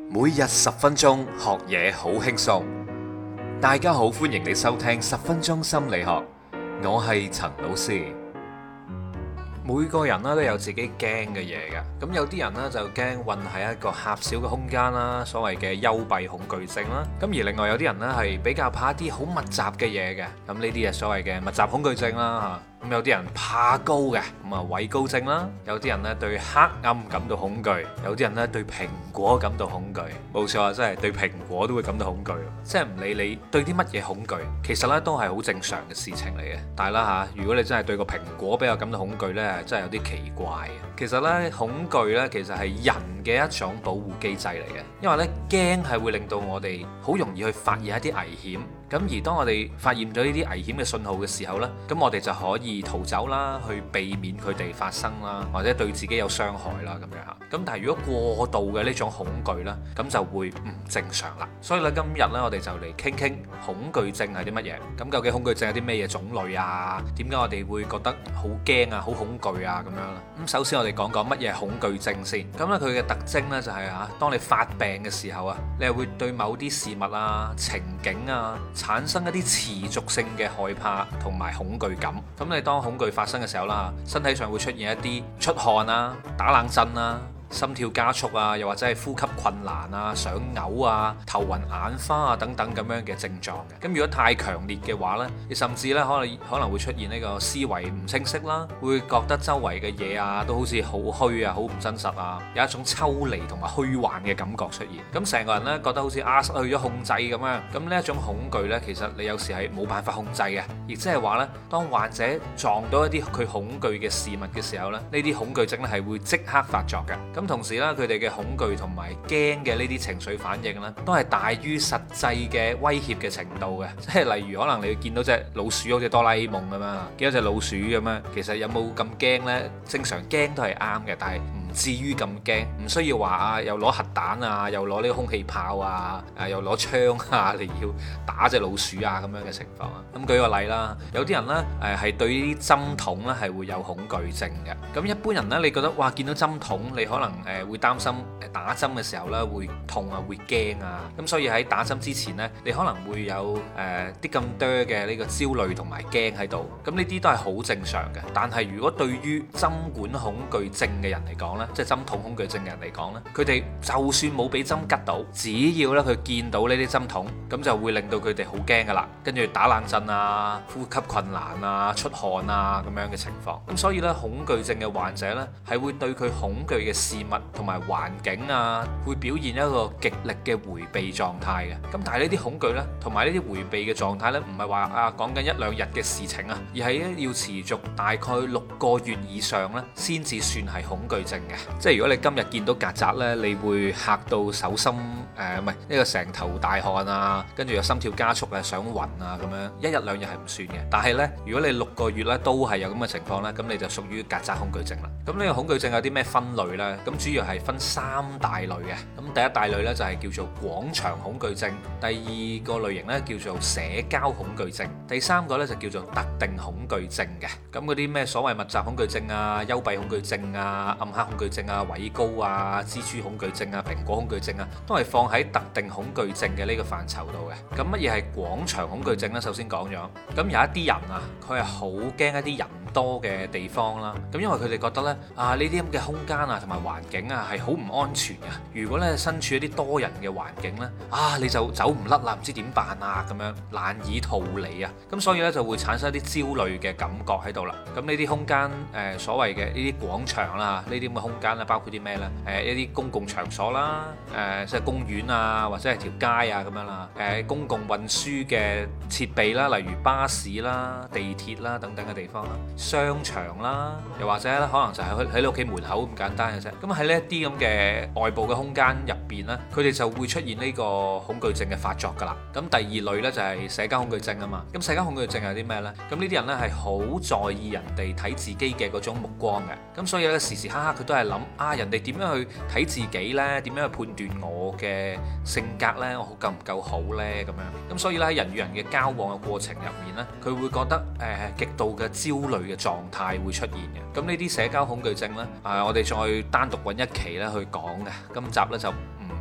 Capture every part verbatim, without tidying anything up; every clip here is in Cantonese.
每日十分鐘學嘢好輕鬆。大家好，歡迎你收聽十分鐘心理學，我係陳老師。每個人咧都有自己驚嘅嘢嘅，咁有啲人呢就驚困喺一個狹小嘅空間啦，所謂嘅幽閉恐懼症啦。咁而另外有啲人呢係比較怕一啲好密集嘅嘢嘅，咁呢啲係所謂嘅密集恐懼症啦嚇。咁有啲人怕高嘅，咁啊畏高症啦；有啲人咧對黑暗感到恐懼，有啲人咧對蘋果感到恐懼。冇錯啊，真係對蘋果都會感到恐懼。即係唔理你對啲乜嘢恐懼，其實咧都係好正常嘅事情嚟嘅。但係啦嚇，如果你真係對個蘋果比較感到恐懼呢，真係有啲奇怪嘅。其實呢，恐懼呢其實係人嘅一種保護機制嚟嘅，因為呢驚係會令到我哋好容易去發現一啲危險。咁而當我哋發現咗呢啲危險嘅信號嘅時候呢，咁我哋就可以逃走啦，去避免佢哋發生啦，或者對自己有傷害啦咁樣嚇。咁但係如果過度嘅呢種恐懼呢，咁就會唔正常啦。所以咧今日呢，我哋就嚟傾傾恐懼症係啲乜嘢。咁究竟恐懼症有啲咩嘢種類啊？點解我哋會覺得好驚啊、好恐懼啊咁樣啦？咁首先我哋講講乜嘢係恐懼症先。咁咧佢嘅特徵呢，就係嚇，當你發病嘅時候啊，你係會對某啲事物啊、情景啊，產生一啲持續性嘅害怕同埋恐懼感。咁你當恐懼發生嘅時候啦，身體上會出現一啲出汗啊、打冷震啊、心跳加速啊，又或者係呼吸困難啊、想嘔啊、頭暈眼花啊等等咁樣嘅症狀嘅。咁如果太強烈嘅話呢，你甚至咧可能可能會出現呢個思維唔清晰啦，會覺得周圍嘅嘢啊都好似好虛啊、好唔真實啊，有一種抽離同埋虛幻嘅感覺出現。咁成個人呢，覺得好似啊失去咗控制咁樣。咁呢一種恐懼呢，其實你有時係冇辦法控制嘅，亦即係話呢，當患者撞到一啲佢恐懼嘅事物嘅時候呢，呢啲恐懼症咧係會即刻發作嘅。咁同時咧，佢哋嘅恐懼同埋驚嘅呢啲情緒反應咧，都係大於實際嘅威脅嘅程度嘅。即係例如，可能你見到隻老鼠好似哆啦 A 夢咁樣，見到隻老鼠咁樣，其實有冇咁驚呢？正常驚都係啱嘅，但係唔至於咁驚，唔需要話啊，又攞核彈啊，又攞呢個空氣炮啊，誒又攞槍啊嚟要打隻老鼠啊咁樣嘅情況啊。咁舉個例啦，有啲人呢誒係對呢啲針筒呢係會有恐懼症嘅。咁一般人呢，你覺得哇見到針筒你可能誒會擔心誒打針嘅時候呢會痛啊，會驚啊。咁所以喺打針之前呢，你可能會有誒啲咁多嘅呢個焦慮同埋驚喺度。咁呢啲都係好正常嘅。但係如果對於針管恐懼症嘅人嚟講，即係針筒恐懼症嘅人嚟講呢，佢哋就算冇俾針拮到，只要咧佢見到呢啲針筒，咁就會令到佢哋好驚噶啦，跟住打冷震啊、呼吸困難啊、出汗啊咁樣嘅情況。咁所以呢，恐懼症嘅患者呢，係會對佢恐懼嘅事物同埋環境啊，會表現一個極力嘅迴避狀態嘅。咁但係呢啲恐懼呢，同埋呢啲迴避嘅狀態呢，唔係話啊講緊一兩日嘅事情啊，而係咧要持續大概六個月以上呢，先至算係恐懼症。即係如果你今日見到曱甴呢，你會嚇到手心誒，唔係呢個成頭大汗啊，跟住又心跳加速啊，想暈啊咁樣，一日兩日係唔算嘅。但係呢，如果你六個月呢都係有咁嘅情況呢，咁你就屬於曱甴恐懼症啦。咁呢個恐懼症有啲咩分類呢？咁主要係分三大類嘅。咁第一大類呢，就係叫做廣場恐懼症，第二個類型呢，叫做社交恐懼症，第三個呢，就叫做特定恐懼症嘅。咁嗰啲咩所謂密集恐懼症啊、幽閉恐懼症啊、暗黑恐懼症啊、畏高啊、蜘蛛恐懼症啊、蘋果恐懼症啊，都係放喺特定恐懼症嘅呢個範疇度嘅。咁乜嘢係廣場恐懼症呢？首先講咗，咁有一啲人啊，佢係好驚一啲人多嘅地方啦。咁因為佢哋覺得呢，啊呢啲咁嘅空間啊同埋環境啊係好唔安全嘅。如果咧身處一啲多人嘅環境呢，啊你就走唔甩啦，唔知點辦啊咁樣，難以逃離啊。咁所以呢，就會產生一啲焦慮嘅感覺喺度啦。咁呢啲空間誒、呃、所謂嘅呢啲廣場啦，呢啲咁嘅空間咧，包括啲咩呢？誒、呃、一啲公共場所啦，誒、呃、即係公園啊，或者係條街啊咁樣啦。誒、呃、公共運輸嘅設備啦，例如巴士啦、地鐵啦等等嘅地方啦，商場啦，又或者咧可能就係喺你屋企門口咁簡單嘅啫。咁喺呢一啲咁嘅外部嘅空間入邊呢，佢哋就會出現呢個恐懼症嘅發作㗎啦。咁第二類呢，就係社交恐懼症啊嘛。咁社交恐懼症係啲咩呢？咁呢啲人呢，係好在意人哋睇自己嘅嗰種目光嘅。咁所以咧時時刻刻佢都係諗啊，人哋點樣去睇自己呢？點樣去判斷我嘅性格呢？我夠唔夠好呢？咁樣。咁所以咧喺人與人嘅交往嘅過程入面呢，佢會覺得誒、呃、極度嘅焦慮嘅狀態會出現嘅。咁呢啲社交恐懼症呢，啊、呃、我哋再單獨揾一期咧去講嘅。今集呢，就唔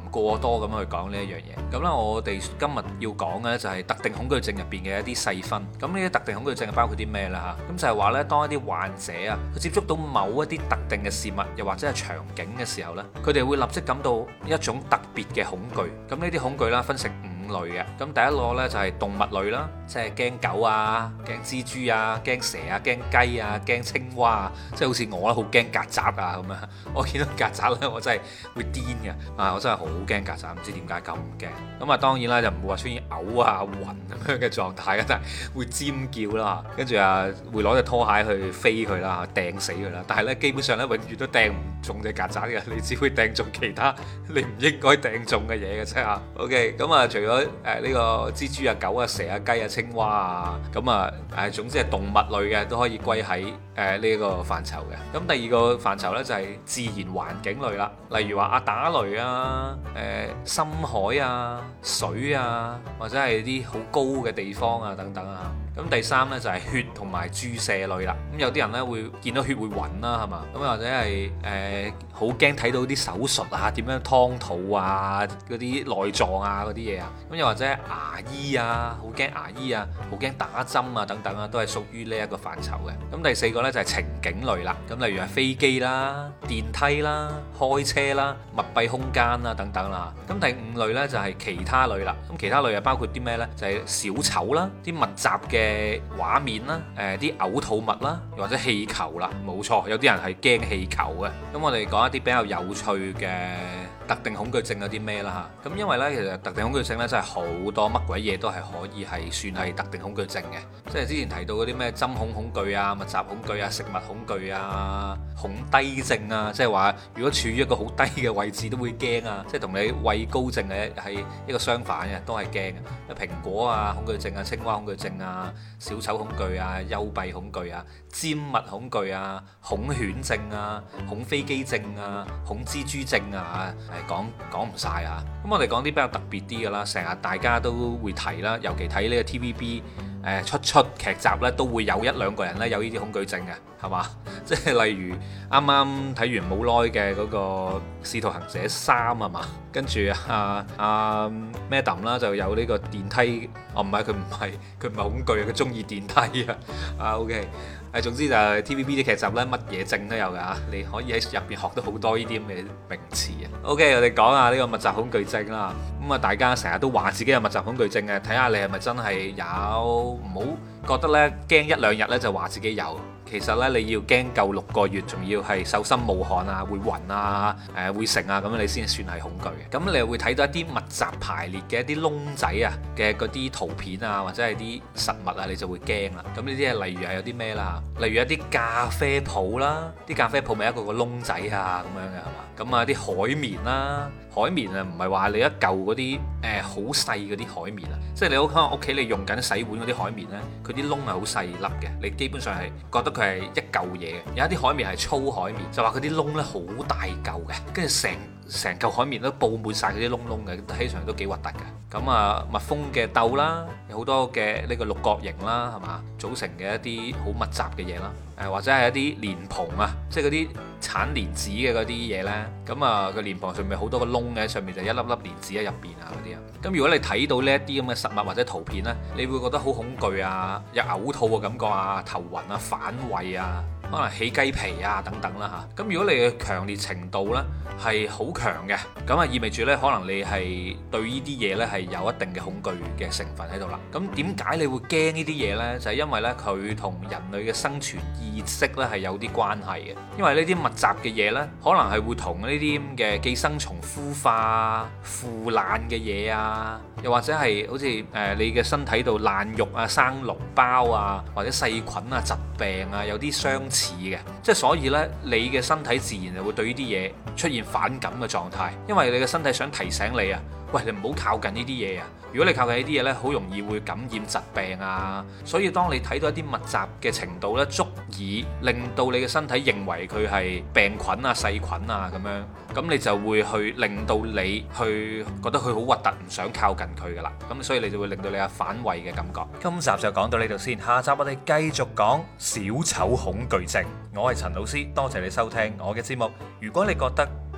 過多咁去講呢一樣嘢。咁咧，我哋今日要講嘅就係特定恐懼症入邊嘅一啲細分。咁呢啲特定恐懼症係包括啲咩啦嚇？咁就係話呢，當一啲患者啊，佢接觸到某一啲特定嘅事物，又或者係場景嘅時候呢，佢哋會立即感到一種特別嘅恐懼。咁呢啲恐懼啦，分成五類嘅。咁第一個呢，就係動物類啦，即係驚狗啊、驚蜘蛛啊、驚蛇啊、驚雞啊、驚青蛙啊，即係好似我啦，好驚曱甴啊咁樣。我見到曱甴呢，我真係會癲嘅啊！我真係好驚曱甴，唔知點解咁驚。咁啊，當然啦，就唔會話出現嘔啊、暈咁樣嘅狀態嘅，但係會尖叫啦，跟住啊會攞隻拖鞋去飛佢啦，掟死佢啦。但係呢，基本上呢，永遠都掟唔中隻曱甴嘅，你只會掟中其他你唔應該掟中嘅嘢嘅啫嚇。OK，咁啊，除咗誒呢個蜘蛛啊、狗啊、蛇啊、雞啊、青蛙啊，咁啊誒總之係動物類嘅都可以歸喺誒呢個範疇嘅。咁第二個範疇呢，就係自然環境類啦，例如話啊打雷啊、誒、呃、深海啊、水啊，或者係啲好高嘅地方啊等等啊。咁第三呢，就係血同埋注射類啦。咁有啲人呢，會見到血會暈啦，係嘛？咁或者係誒好驚睇到啲手術啊，點樣劏肚啊，嗰啲內臟啊嗰啲嘢啊。咁又或者牙醫啊，好驚牙醫啊，好驚打針啊等等啊，都係屬於呢一個範疇嘅。咁第四個呢，就係情景類啦。咁例如係飛機啦、電梯啦、開車啦、密閉空間啦等等啦。咁第五類呢，就係其他類啦。咁其他類啊包括啲咩呢？就係小丑啦，啲密集嘅嘅畫面啦，誒啲嘔吐物啦，又或者氣球啦，冇錯，有啲人係驚氣球嘅。咁我哋講一啲比較有趣嘅特定恐懼症有啲咩啦嚇？咁因為呢，其實特定恐懼症呢，真係好多乜鬼嘢都係可以係算係特定恐懼症嘅。即係之前提到嗰啲咩針孔恐懼啊、密集恐懼啊、食物恐懼啊、恐低症啊，即係話如果處於一個好低嘅位置都會驚啊，即係同你畏高症係係一個相反嘅，都係驚嘅。蘋果啊恐懼症啊、青蛙恐懼症啊、小丑恐懼啊、幽閉恐懼啊、尖物恐懼啊、恐犬症啊、恐飛機症啊、恐蜘蛛症啊，係講講唔晒啊！咁我哋講啲比較特別啲嘅啦，成日大家都會提啦，尤其睇呢個 T V B 誒出出劇集呢，都會有一兩個人呢有呢啲恐懼症嘅，係嘛？即係例如啱啱睇完冇耐嘅嗰個《使徒行者三》啊嘛，跟住啊啊 Madam 啦就有呢個電梯，哦唔係佢唔係佢唔係恐懼啊，佢中意電梯啊啊 OK。誒，總之就係 T V B 啲劇集咧，乜嘢症都有㗎，你可以喺入邊學到好多呢啲咁嘅名詞啊。OK，我哋講下呢個密集恐懼症啦。咁啊，大家成日都話自己有密集恐懼症嘅，睇下你係咪真係有，唔好覺得咧驚一兩日咧就話自己有。其實咧，你要驚夠六個月，仲要係手心冒汗啊，會暈啊，誒、呃、會成啊，咁樣你先算係恐懼嘅。咁你又會睇到一啲密集排列嘅一啲窿仔啊嘅嗰啲圖片啊，或者係啲實物啊，你就會驚啦。咁呢啲係例如係有啲咩啦？例如一啲咖啡鋪啦，啲咖啡鋪咪一個個窿仔啊咁樣嘅係嘛？咁啊啲海綿啦，海綿啊唔係話你一嚿嗰啲誒好細嗰啲海綿啊，即係你屋可能屋企你用緊洗碗嗰啲海綿呢，佢啲窿係好細粒嘅，你基本上係覺得佢係一嚿嘢嘅。有一啲海綿係粗海綿，就話佢啲窿呢好大嚿嘅，跟住成成嚿海綿都佈滿晒嗰啲窿窿嘅，睇上嚟都幾核突嘅。咁啊蜜蜂嘅竇啦，有好多嘅呢個六角形啦，係嘛組成嘅一啲好密集嘅嘢啦。誒或者係一啲蓮蓬啊，即係嗰啲產蓮子嘅嗰啲嘢呢。咁啊個蓮蓬上面好多個窿嘅，上面就一粒粒蓮子喺入邊啊嗰啲啊。咁如果你睇到呢一啲咁嘅實物或者圖片呢，你會覺得好恐懼啊，有嘔吐嘅感覺啊，頭暈啊，反胃啊，可能起雞皮啊等等啦嚇。咁如果你嘅強烈程度呢係好強嘅，咁啊意味住呢，可能你係對呢啲嘢呢係有一定嘅恐懼嘅成分喺度啦。咁點解你會驚呢啲嘢呢？就係因為呢，佢同人類嘅生存意識呢係有啲關係嘅。因為呢啲密集嘅嘢呢，可能係會同呢啲咁嘅寄生蟲孵化、腐爛嘅嘢啊，又或者係好似誒你嘅身體度爛肉啊、生膿包啊，或者細菌啊、疾病啊有啲相似嘅。即係所以呢，你嘅身體自然就會對呢啲嘢出現反感嘅狀態，因為你嘅身體想提醒你啊，喂，你唔好靠近呢啲嘢啊！如果你靠近呢啲嘢呢，好容易會感染疾病啊。所以當你睇到一啲密集嘅程度呢，足以令到你嘅身體認為佢係病菌啊、細菌啊咁樣，咁你就會去令到你去覺得佢好核突，唔想靠近佢噶啦。咁所以你就會令到你有反胃嘅感覺。今集就講到呢度先，下集我哋繼續講小丑恐懼症。我係陳老師，多謝你收聽我嘅節目。如果你覺得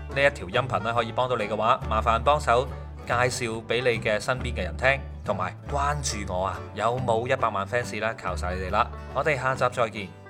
呢一條音頻咧可以幫到你嘅話，麻煩幫手介紹俾你嘅身邊嘅人聽，同埋關注我啊！有冇一百萬 fans 啦？靠晒你哋啦！我哋下集再見。